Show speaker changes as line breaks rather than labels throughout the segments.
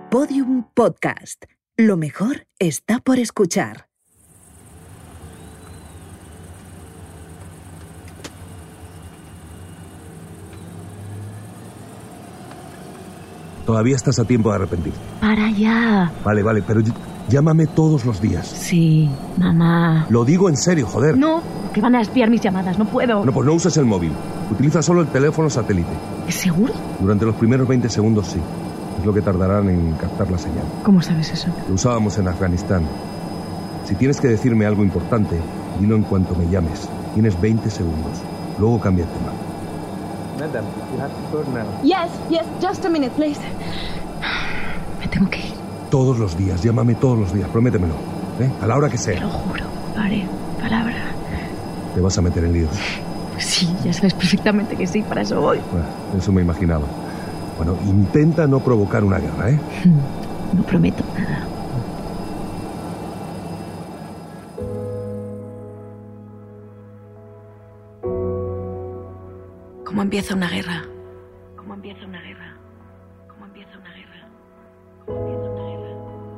Podium Podcast. Lo mejor está por escuchar.
Todavía estás a tiempo de arrepentirte.
Para ya.
Vale, pero llámame todos los días.
Sí, mamá.
Lo digo en serio, joder.
No, que van a espiar mis llamadas, no puedo.
No, pues no uses el móvil. Utiliza solo el teléfono satélite.
¿Es seguro?
Durante los primeros 20 segundos sí. Es lo que tardarán en captar la señal.
¿Cómo sabes eso?
Lo usábamos en Afganistán. Si tienes que decirme algo importante, dilo en cuanto me llames. Tienes 20 segundos. Luego cambia el tema.
Madam, you have to go now.
Yes, just a minute, please. Me tengo que ir.
Todos los días, llámame todos los días, prométemelo. A la hora que sea.
Te lo juro, haré palabra.
¿Te vas a meter en líos?
Sí, ya sabes perfectamente que sí, para eso voy.
Bueno, eso me imaginaba. Bueno, intenta no provocar una guerra, ¿eh?
No prometo nada. ¿Cómo empieza una guerra? ¿Cómo empieza una guerra? ¿Cómo empieza una guerra? ¿Cómo empieza una guerra?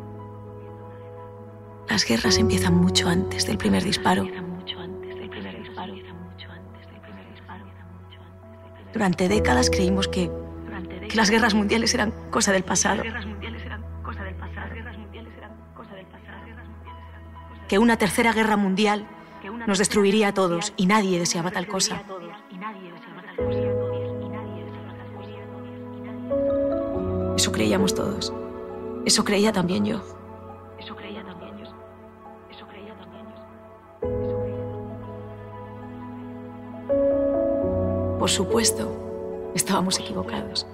Las guerras empiezan mucho antes del primer disparo. Durante décadas creímos que las guerras mundiales eran cosa del pasado. Que una tercera guerra mundial nos destruiría a todos y nadie deseaba tal cosa. Eso creíamos todos. Eso creía también yo. Por supuesto, estábamos equivocados.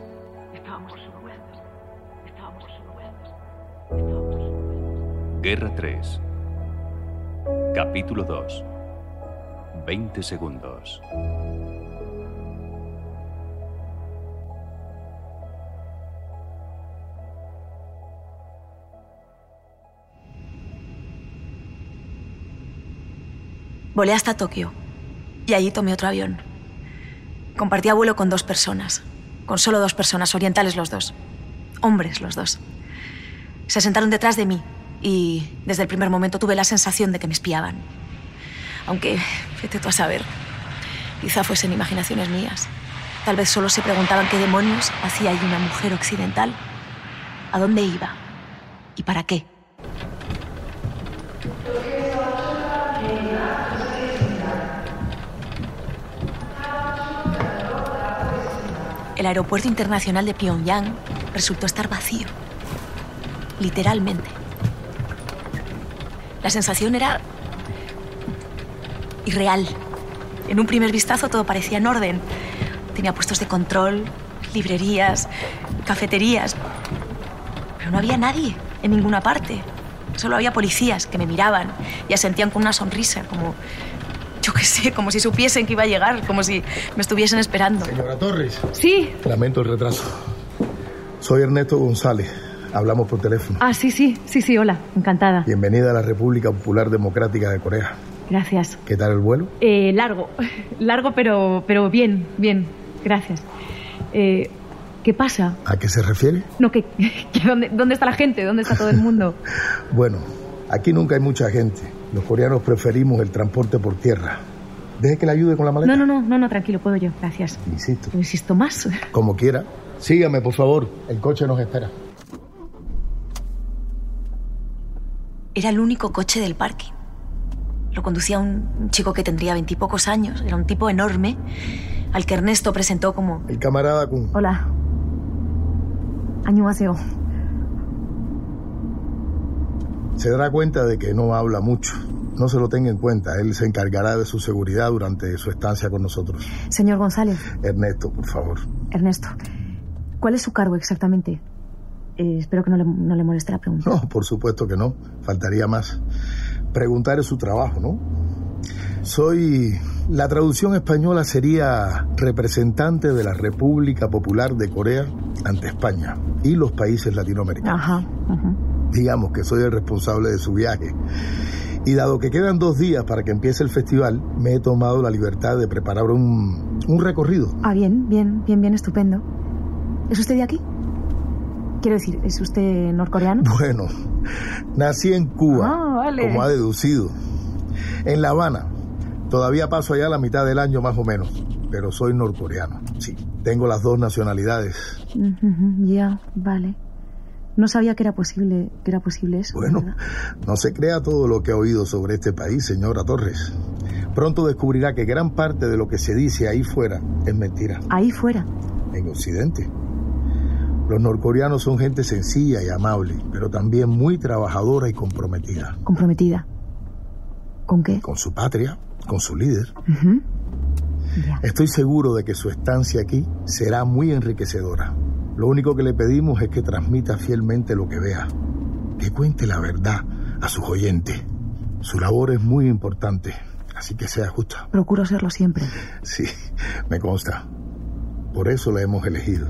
Guerra 3. Capítulo 2. 20 segundos.
Volé hasta Tokio y allí tomé otro avión. Compartía vuelo con 2 personas, con solo 2 personas, orientales los 2, hombres los 2. Se sentaron detrás de mí y desde el primer momento tuve la sensación de que me espiaban. Aunque, vete tú a saber, quizá fuesen imaginaciones mías. Tal vez solo se preguntaban qué demonios hacía allí una mujer occidental, a dónde iba y para qué. El aeropuerto internacional de Pyongyang resultó estar vacío. Literalmente. La sensación era irreal. En un primer vistazo todo parecía en orden. Tenía puestos de control, librerías, cafeterías. Pero no había nadie en ninguna parte. Solo había policías que me miraban y asentían con una sonrisa, como... yo qué sé, como si supiesen que iba a llegar, como si me estuviesen esperando.
Señora Torres.
Sí.
Lamento el retraso. Soy Ernesto González. Hablamos por teléfono.
Ah, sí, hola, encantada.
Bienvenida a la República Popular Democrática de Corea.
Gracias.
¿Qué tal el vuelo?
Largo, pero bien, gracias. ¿Qué pasa?
¿A qué se refiere?
No, ¿dónde está la gente? ¿Dónde está todo el mundo?
Bueno, aquí nunca hay mucha gente. Los coreanos preferimos el transporte por tierra. ¿Deje que le ayude con la maleta?
No, tranquilo, puedo yo, gracias.
Insisto.
Insisto más.
Como quiera. Sígame, por favor. El coche nos espera.
Era el único coche del parking. Lo conducía un chico que tendría 20 y pocos años. Era un tipo enorme, al que Ernesto presentó como...
el camarada Kun.
Hola. 안녕하세요.
Se dará cuenta de que no habla mucho. No se lo tenga en cuenta. Él se encargará de su seguridad durante su estancia con nosotros.
Señor González.
Ernesto, por favor.
Ernesto, ¿cuál es su cargo exactamente? Espero que no le moleste la pregunta.
No, por supuesto que no. Faltaría más. Preguntar es su trabajo, ¿no? Soy... la traducción española sería representante de la República Popular de Corea ante España y los países latinoamericanos.
Ajá.
Digamos que soy el responsable de su viaje. Y dado que quedan 2 días para que empiece el festival, me he tomado la libertad de preparar un recorrido.
Ah, bien, estupendo. ¿Es usted de aquí? Quiero decir, ¿es usted norcoreano?
Bueno, nací en Cuba,
vale.
como ha deducido. En La Habana. Todavía paso allá la mitad del año más o menos, pero soy norcoreano. Sí, tengo las dos nacionalidades.
Ya, vale. No sabía que era posible eso.
Bueno,
¿verdad?
no se crea todo lo que ha oído sobre este país, señora Torres. Pronto descubrirá que gran parte de lo que se dice ahí fuera es mentira.
Ahí fuera.
En Occidente. Los norcoreanos son gente sencilla y amable, pero también muy trabajadora y comprometida.
¿Comprometida? ¿Con qué?
Con su patria, con su líder.
Ya.
Estoy seguro de que su estancia aquí será muy enriquecedora. Lo único que le pedimos es que transmita fielmente lo que vea, que cuente la verdad a sus oyentes. Su labor es muy importante, así que sea justa.
Procuro serlo siempre.
Sí, me consta. Por eso la hemos elegido.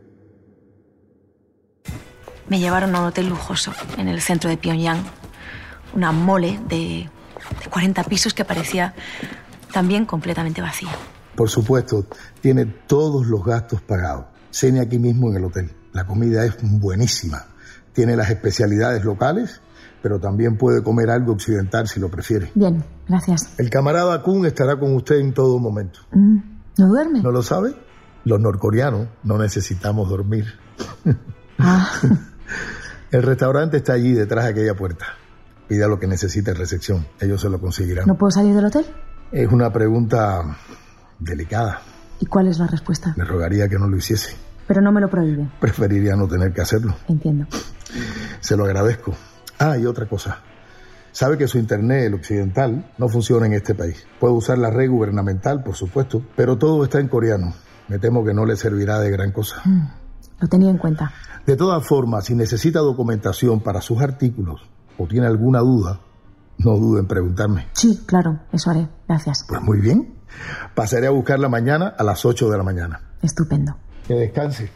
Me llevaron a un hotel lujoso en el centro de Pyongyang. Una mole de 40 pisos que parecía también completamente vacía.
Por supuesto, tiene todos los gastos pagados. Cene aquí mismo en el hotel. La comida es buenísima. Tiene las especialidades locales, pero también puede comer algo occidental si lo prefiere.
Bien, gracias.
El camarada Kun estará con usted en todo momento.
¿No duerme?
¿No lo sabe? Los norcoreanos no necesitamos dormir. El restaurante está allí detrás de aquella puerta. Pida lo que necesite en recepción. Ellos se lo conseguirán.
¿No puedo salir del hotel?
Es una pregunta delicada.
¿Y cuál es la respuesta?
Le rogaría que no lo hiciese.
Pero no me lo prohíbe.
Preferiría no tener que hacerlo.
Entiendo.
Se lo agradezco. Y otra cosa. Sabe que su internet, el occidental, no funciona en este país. Puede usar la red gubernamental, por supuesto, pero todo está en coreano. Me temo que no le servirá de gran cosa.
Lo tenía en cuenta.
De todas formas, si necesita documentación para sus artículos o tiene alguna duda, no dude en preguntarme.
Sí, claro, eso haré. Gracias.
Pues muy bien. Pasaré a buscarla mañana a las 8 de la mañana.
Estupendo.
Que descanse.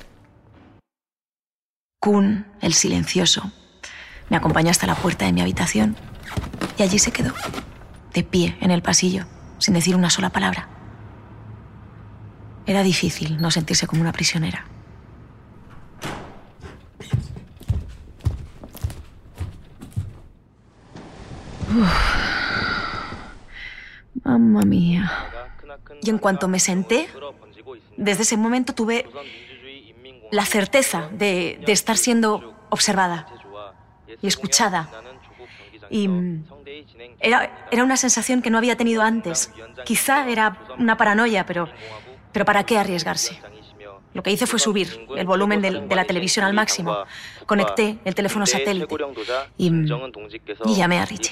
Kun, el silencioso, me acompañó hasta la puerta de mi habitación y allí se quedó, de pie en el pasillo, sin decir una sola palabra. Era difícil no sentirse como una prisionera. Mamma mía. Y en cuanto me senté, desde ese momento tuve la certeza de estar siendo observada y escuchada. Y era una sensación que no había tenido antes. Quizá era una paranoia, pero ¿para qué arriesgarse? Lo que hice fue subir el volumen de la televisión al máximo. Conecté el teléfono satélite y llamé a Richie.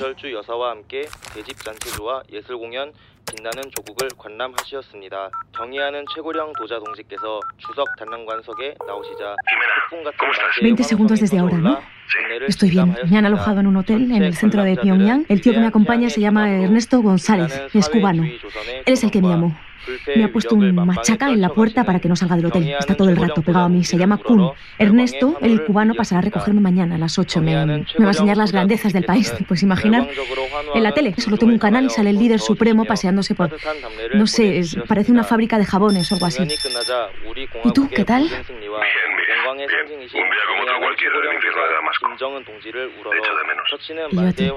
빛나는 조국을 관람하시었습니다. 경의하는 최고령 도자 동지께서 추석 단람관석에 나오시자 폭풍 같은 만세의
20 segundos desde ahora, ¿no? Estoy bien. Me han alojado en un hotel en el centro de Pyongyang. El tío que me acompaña se llama Ernesto González. Es cubano. Él es el que me llamó. Me ha puesto un machaca en la puerta para que no salga del hotel. Está todo el rato pegado a mí. Se llama Kun. Ernesto, el cubano, pasará a recogerme mañana a las 8. Me va a enseñar las grandezas del país. Pues imaginar. En la tele solo tengo un canal y sale el líder supremo paseándose por... No sé, parece una fábrica de jabones o algo así. ¿Y tú, qué tal?
Bien. Un día como otro cualquiera en el infierno de Damasco. Echo de menos.
¿Y yo a ti?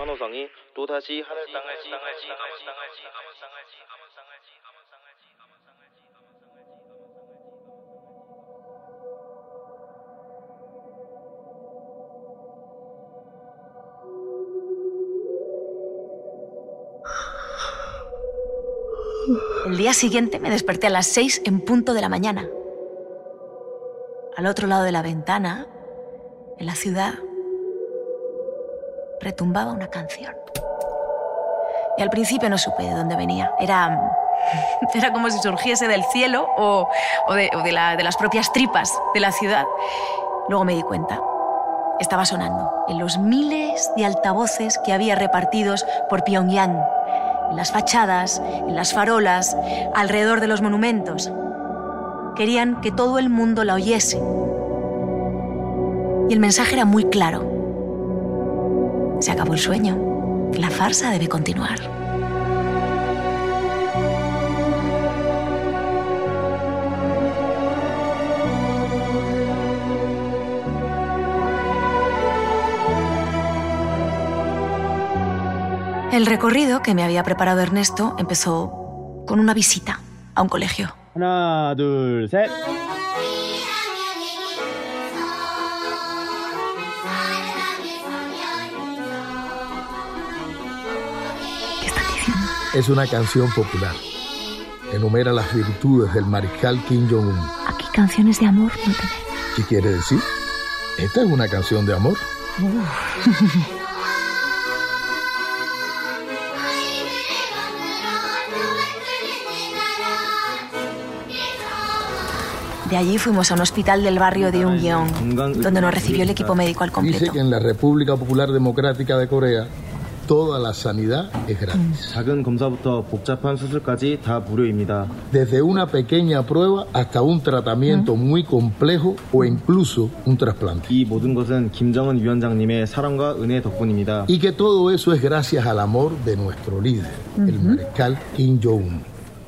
El día siguiente me desperté a las 6 en punto de la mañana. Al otro lado de la ventana, en la ciudad, retumbaba una canción. Y al principio no supe de dónde venía. Era como si surgiese del cielo o de las propias tripas de la ciudad. Luego me di cuenta. Estaba sonando en los miles de altavoces que había repartidos por Pyongyang, en las fachadas, en las farolas, alrededor de los monumentos. Querían que todo el mundo la oyese. Y el mensaje era muy claro. Se acabó el sueño. La farsa debe continuar. El recorrido que me había preparado Ernesto empezó con una visita a un colegio.
하나, 둘, 셋.
¿Qué están diciendo?
Es una canción popular. Enumera las virtudes del mariscal Kim Jong-un.
Aquí canciones de amor no tenemos.
¿Qué quiere decir? Esta es una canción de amor.
De allí fuimos a un hospital del barrio de Unguyeong, donde nos recibió el equipo médico al completo.
Dice que en la República Popular Democrática de Corea toda la sanidad es gratis.
작은 검사부터 복잡한 수술까지 다 무료입니다.
Desde una pequeña prueba hasta un tratamiento muy complejo o incluso un trasplante.
이 모든 것은 김정은 위원장님의 사랑과 은혜 덕분입니다.
Y que todo eso es gracias al amor de nuestro líder, el mariscal Kim Jong-un.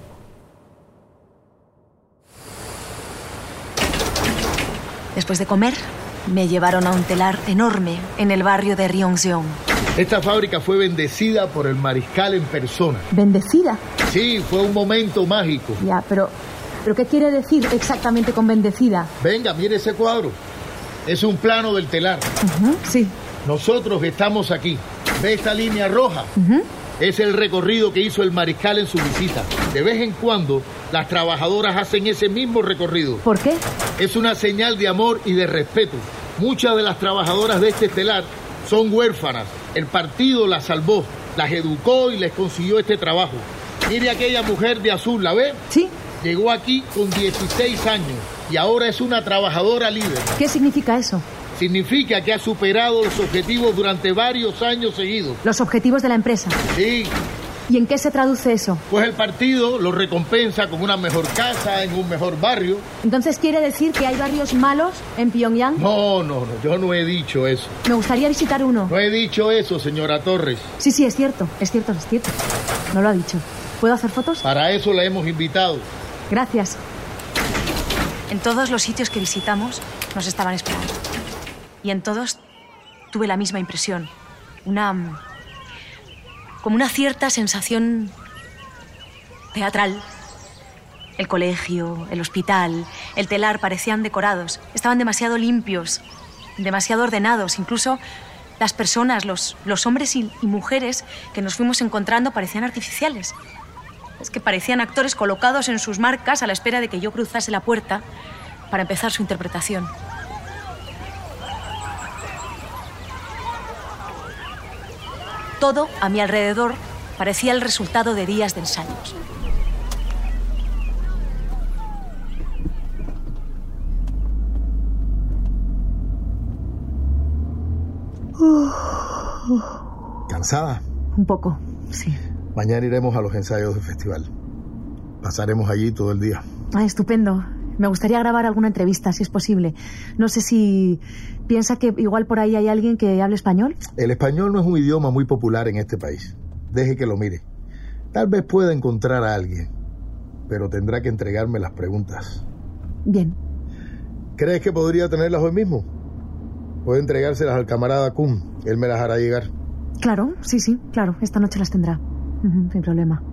Después de comer, me llevaron a un telar enorme en el barrio de Ryongseong.
Esta fábrica fue bendecida por el mariscal en persona.
¿Bendecida?
Sí, fue un momento mágico.
Ya, pero ¿qué quiere decir exactamente con bendecida?
Venga, mire ese cuadro. Es un plano del telar.
Sí.
Nosotros estamos aquí. ¿Ve esta línea roja? Es el recorrido que hizo el mariscal en su visita. De vez en cuando, las trabajadoras hacen ese mismo recorrido.
¿Por qué?
Es una señal de amor y de respeto. Muchas de las trabajadoras de este telar son huérfanas. El partido las salvó, las educó y les consiguió este trabajo. Mire aquella mujer de azul, ¿la ve?
Sí.
Llegó aquí con 16 años y ahora es una trabajadora líder.
¿Qué significa eso?
Significa que ha superado los objetivos durante varios años seguidos.
Los objetivos de la empresa.
Sí.
¿Y en qué se traduce eso?
Pues el partido lo recompensa con una mejor casa, en un mejor barrio.
¿Entonces quiere decir que hay barrios malos en Pyongyang?
No, yo no he dicho eso.
Me gustaría visitar uno.
No he dicho eso, señora Torres.
Sí, es cierto. No lo ha dicho. ¿Puedo hacer fotos?
Para eso la hemos invitado.
Gracias.
En todos los sitios que visitamos nos estaban esperando. Y en todos tuve la misma impresión. Como una cierta sensación teatral. El colegio, el hospital, el telar parecían decorados. Estaban demasiado limpios, demasiado ordenados. Incluso las personas, los hombres y mujeres que nos fuimos encontrando parecían artificiales. Es que parecían actores colocados en sus marcas a la espera de que yo cruzase la puerta para empezar su interpretación. Todo a mi alrededor parecía el resultado de días de ensayos.
¿Cansada?
Un poco, sí.
Mañana iremos a los ensayos del festival. Pasaremos allí todo el día.
Ah, estupendo. Me gustaría grabar alguna entrevista, si es posible. No sé si piensa que igual por ahí hay alguien que hable español.
El español no es un idioma muy popular en este país. Deje que lo mire. Tal vez pueda encontrar a alguien, pero tendrá que entregarme las preguntas.
Bien.
¿Crees que podría tenerlas hoy mismo? Puede entregárselas al camarada Kun. Él me las hará llegar.
Claro, sí, claro. Esta noche las tendrá. Sin problema.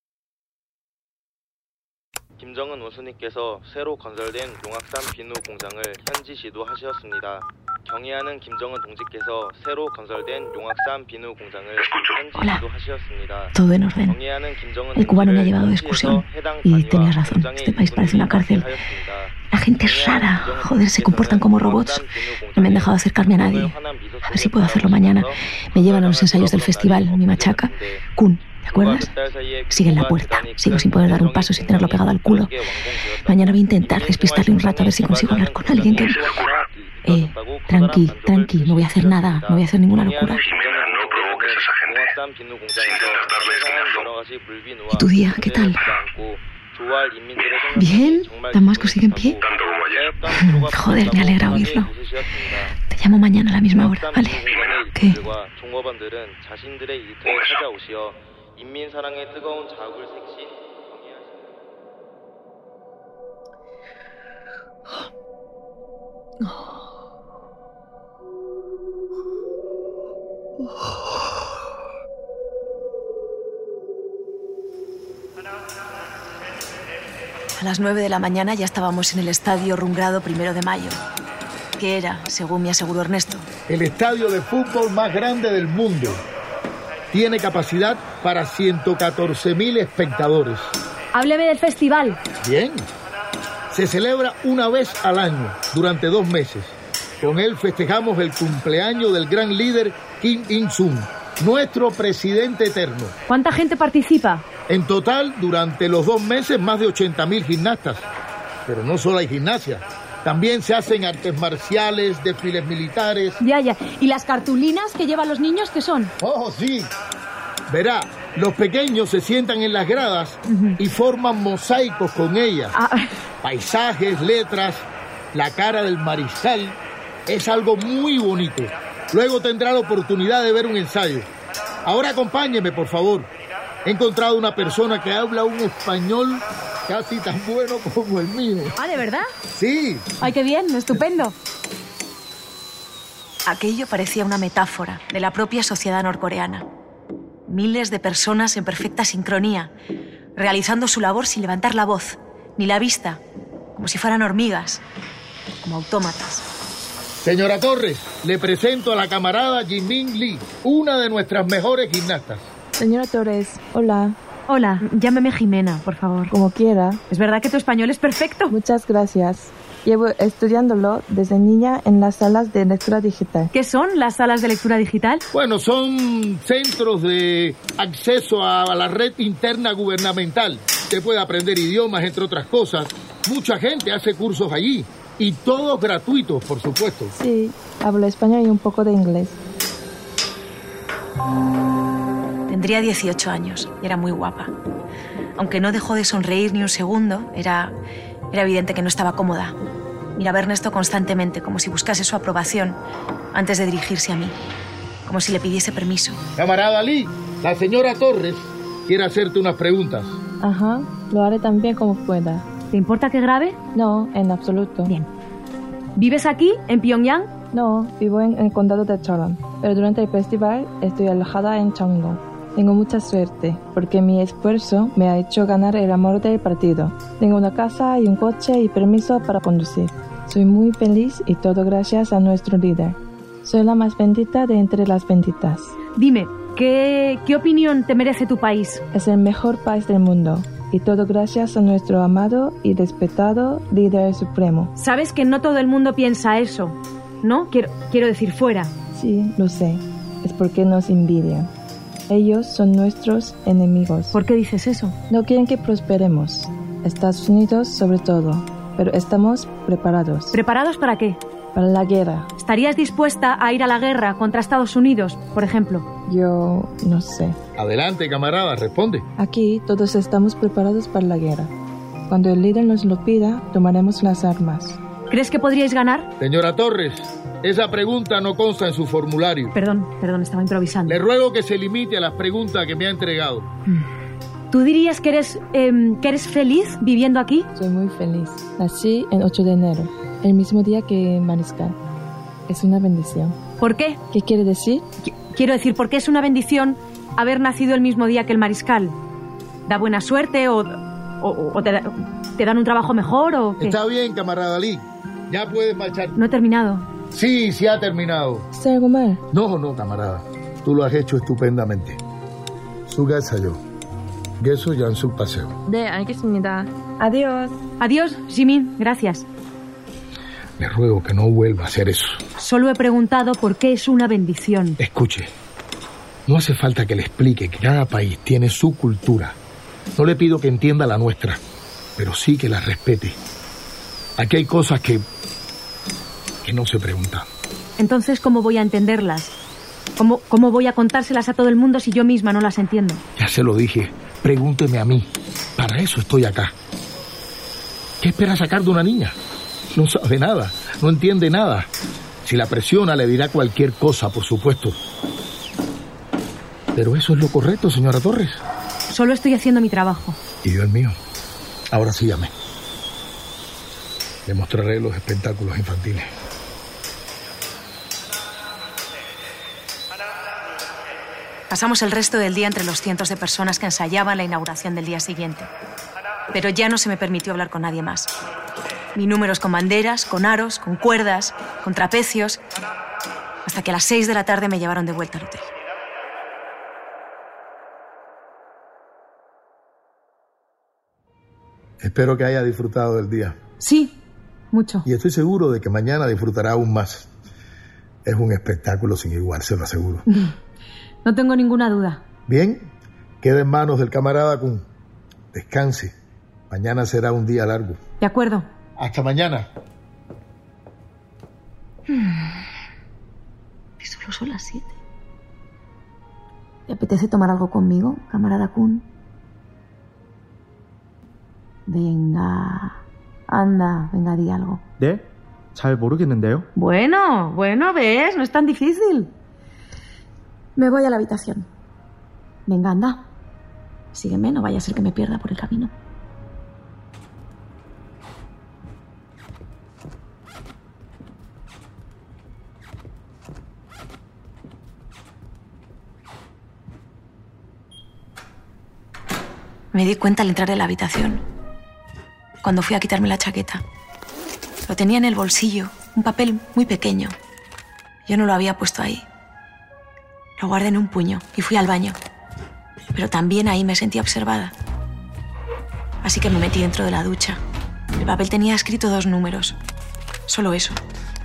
김정은 원수님께서 새로 건설된 용악산 비누 공장을 현지 지도하셨습니다. 경의하는 김정은 동지께서 새로 건설된 용악산 비누 공장을 현지 지도하셨습니다.
Todo en orden. El cubano me ha llevado de excursión y tenías razón. Este país parece una cárcel. La gente es rara. Joder, se comportan como robots. No me han dejado acercarme a nadie. A ver si puedo hacerlo mañana. Me llevan a los ensayos del festival. Mi machaca. Kun. ¿Te acuerdas? Sigue en la puerta. Sigo sin poder dar un paso sin tenerlo pegado al culo. Mañana voy a intentar despistarle un rato a ver si consigo hablar con alguien que... Tranqui, no voy a hacer nada. No voy a hacer ninguna locura.
Jimena, no provoques a esa gente. Si intentas darle espinazo.
¿Y tu día? ¿Qué tal? ¿Bien? ¿Damasco sigue en pie?
Tanto como ayer.
Joder, me alegra oírlo. Te llamo mañana a la misma hora, ¿vale? ¿Qué?
인민사랑의 뜨거운 자국을 색신
A las 9 de la mañana ya estábamos en el estadio Rungrado 1 de Mayo, que era, según me aseguró Ernesto,
el estadio de fútbol más grande del mundo. Tiene capacidad para 114.000 espectadores.
Hábleme del festival.
Bien. Se celebra una vez al año, durante 2 meses. Con él festejamos el cumpleaños del gran líder Kim Il-sung, nuestro presidente eterno.
¿Cuánta gente participa?
En total, durante los 2 meses, más de 80.000 gimnastas. Pero no solo hay gimnasia. También se hacen artes marciales, desfiles militares.
Ya. ¿Y las cartulinas que llevan los niños qué son?
¡Oh, sí! Verá, los pequeños se sientan en las gradas y forman mosaicos con ellas. Paisajes, letras, la cara del mariscal. Es algo muy bonito. Luego tendrá la oportunidad de ver un ensayo. Ahora acompáñeme, por favor. He encontrado una persona que habla un español casi tan bueno como el mío.
¿Ah, de verdad?
Sí.
¡Ay, qué bien! ¡Estupendo!
Aquello parecía una metáfora de la propia sociedad norcoreana. Miles de personas en perfecta sincronía, realizando su labor sin levantar la voz, ni la vista, como si fueran hormigas, como autómatas.
Señora Torres, le presento a la camarada Jimin Lee, una de nuestras mejores gimnastas.
Señora Torres, hola.
Hola, llámeme Jimena, por favor.
Como quiera.
¿Es verdad que tu español es perfecto?
Muchas gracias. Llevo estudiándolo desde niña en las salas de lectura digital.
¿Qué son las salas de lectura digital?
Bueno, son centros de acceso a la red interna gubernamental. Se puede aprender idiomas, entre otras cosas. Mucha gente hace cursos allí. Y todos gratuitos, por supuesto.
Sí, hablo español y un poco de inglés.
Tendría 18 años y era muy guapa. Aunque no dejó de sonreír ni un segundo, era evidente que no estaba cómoda. Miraba a Ernesto constantemente, como si buscase su aprobación antes de dirigirse a mí, como si le pidiese permiso.
Camarada Lee, la señora Torres quiere hacerte unas preguntas.
Ajá, lo haré tan bien como pueda.
¿Te importa que grabe?
No, en absoluto.
Bien. ¿Vives aquí, en Pyongyang?
No, vivo en el condado de Cheonan, pero durante el festival estoy alojada en Cheongdong. Tengo mucha suerte, porque mi esfuerzo me ha hecho ganar el amor del partido. Tengo una casa y un coche y permiso para conducir. Soy muy feliz y todo gracias a nuestro líder. Soy la más bendita de entre las benditas.
Dime, ¿qué opinión te merece tu país?
Es el mejor país del mundo. Y todo gracias a nuestro amado y respetado líder supremo.
Sabes que no todo el mundo piensa eso, ¿no? Quiero decir fuera.
Sí, lo sé. Es porque nos envidian. Ellos son nuestros enemigos.
¿Por qué dices eso?
No quieren que prosperemos. Estados Unidos sobre todo. Pero estamos preparados.
¿Preparados para qué?
Para la guerra.
¿Estarías dispuesta a ir a la guerra contra Estados Unidos, por ejemplo?
Yo no sé.
Adelante, camarada, responde.
Aquí todos estamos preparados para la guerra. Cuando el líder nos lo pida, tomaremos las armas.
¿Crees que podríais ganar?
Señora Torres, esa pregunta no consta en su formulario.
Perdón, estaba improvisando.
Le ruego que se limite a las preguntas que me ha entregado.
¿Tú dirías que eres feliz viviendo aquí?
Soy muy feliz. Nací el 8 de enero, el mismo día que Mariscal. Es una bendición.
¿Por qué?
¿Qué quiere decir?
Quiero decir, ¿por qué es una bendición haber nacido el mismo día que el Mariscal? ¿Da buena suerte o te dan un trabajo mejor o qué?
Está bien, camarada Lee. Ya puedes marchar.
No he terminado.
Sí, ha terminado.
¿Está algo mal?
No, camarada. Tú lo has hecho estupendamente. 수고했어요. 계속 연습하세요.
네, 알겠습니다. Adiós.
Adiós, Jimin. Gracias.
Le ruego que no vuelva a hacer eso.
Solo he preguntado por qué es una bendición.
Escuche, no hace falta que le explique que cada país tiene su cultura. No le pido que entienda la nuestra, pero sí que la respete. Aquí hay cosas que no se preguntan.
Entonces, ¿cómo voy a entenderlas? ¿Cómo voy a contárselas a todo el mundo si yo misma no las entiendo?
Ya se lo dije, pregúnteme a mí. Para eso estoy acá. ¿Qué espera sacar de una niña? No sabe nada, no entiende nada. Si la presiona, le dirá cualquier cosa, por supuesto. Pero eso es lo correcto, señora Torres.
Solo estoy haciendo mi trabajo.
Y yo el mío. Ahora sígame. Le mostraré los espectáculos infantiles.
Pasamos el resto del día entre los cientos de personas que ensayaban la inauguración del día siguiente. Pero ya no se me permitió hablar con nadie más. Vi números con banderas, con aros, con cuerdas, con trapecios, hasta que a las 6 de la tarde me llevaron de vuelta al hotel.
Espero que haya disfrutado del día.
Sí, mucho.
Y estoy seguro de que mañana disfrutará aún más. Es un espectáculo sin igual, se lo aseguro.
No tengo ninguna duda.
Bien, queda en manos del camarada Kun. Descanse. Mañana será un día largo.
De acuerdo.
Hasta mañana.
Y solo son las 7. ¿Te apetece tomar algo conmigo, camarada Kun? Venga. Anda, venga, di algo.
네? 잘 모르겠는데요.
Bueno, ves, no es tan difícil.
Me voy a la habitación. Venga, anda. Sígueme, no vaya a ser que me pierda por el camino. Me di cuenta al entrar en la habitación, cuando fui a quitarme la chaqueta. Lo tenía en el bolsillo, un papel muy pequeño. Yo no lo había puesto ahí. Lo guardé en un puño y fui al baño. Pero también ahí me sentía observada. Así que me metí dentro de la ducha. El papel tenía escrito 2 números. Solo eso.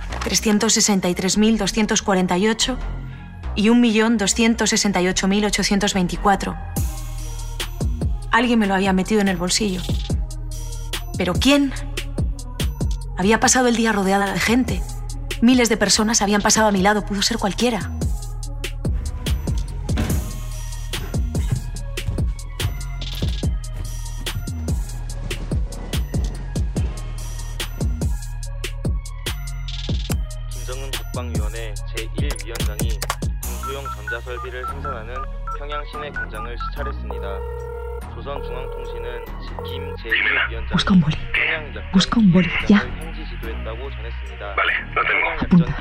363.248 y 1.268.824. Alguien me lo había metido en el bolsillo. ¿Pero quién? Había pasado el día rodeada de gente. Miles de personas habían pasado a mi lado. Pudo ser cualquiera.
김정은 국방위원회 제1위원장이 군수용 전자설비를 생산하는 평양 시내 공장을 시찰했습니다. 조선중앙통신은 김 제1위원장이
Busca un boli, ya.
현지 지도했다고 전했습니다.
Vale, lo tengo.
Apunta.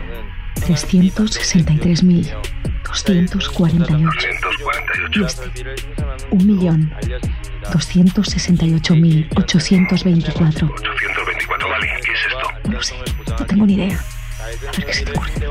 363.248. Y este. 1.268.824.
824, vale. ¿Qué es esto?
No sé, no tengo ni idea. A ver qué se te ocurre.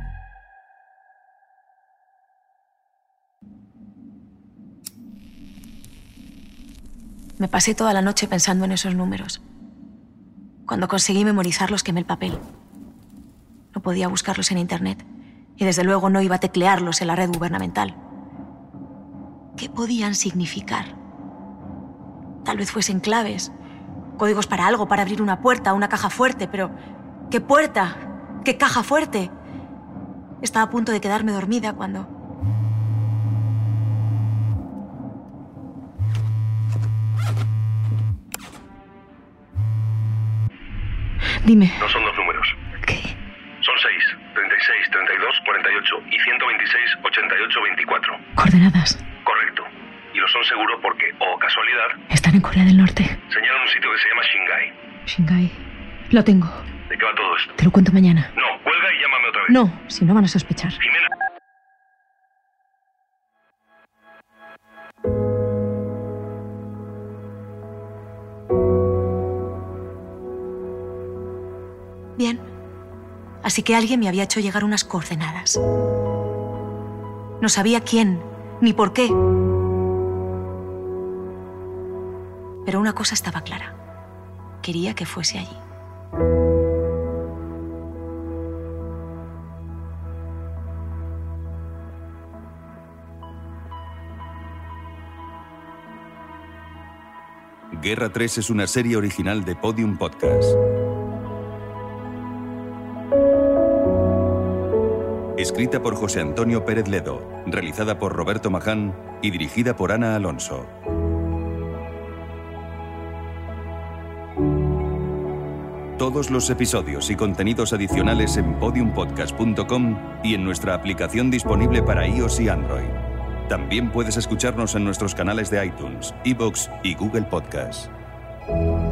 Me pasé toda la noche pensando en esos números. Cuando conseguí memorizarlos, quemé el papel. No podía buscarlos en internet y desde luego no iba a teclearlos en la red gubernamental. ¿Qué podían significar? Tal vez fuesen claves, códigos para algo, para abrir una puerta, una caja fuerte, pero ¿qué puerta? ¿Qué caja fuerte? Estaba a punto de quedarme dormida cuando... Dime.
No son 2 números.
¿Qué?
Son 6, 36, 32, 48 y 126, 88, 24.
Coordenadas.
Correcto. Y lo son seguro porque, o casualidad,
Están en Corea del Norte.
señalan un sitio que se llama Shingai.
Shingai. Lo tengo.
¿De qué va todo esto?
Te lo cuento mañana.
No, cuelga y llámame otra vez.
No, si no van a sospechar.
Jimena.
Bien. Así que alguien me había hecho llegar unas coordenadas. No sabía quién, ni por qué. Pero una cosa estaba clara. Quería que fuese allí.
Guerra 3 es una serie original de Podium Podcast. Escrita por José Antonio Pérez Ledo, realizada por Roberto Maján y dirigida por Ana Alonso. Todos los episodios y contenidos adicionales en podiumpodcast.com y en nuestra aplicación disponible para iOS y Android. También puedes escucharnos en nuestros canales de iTunes, iVoox y Google Podcast.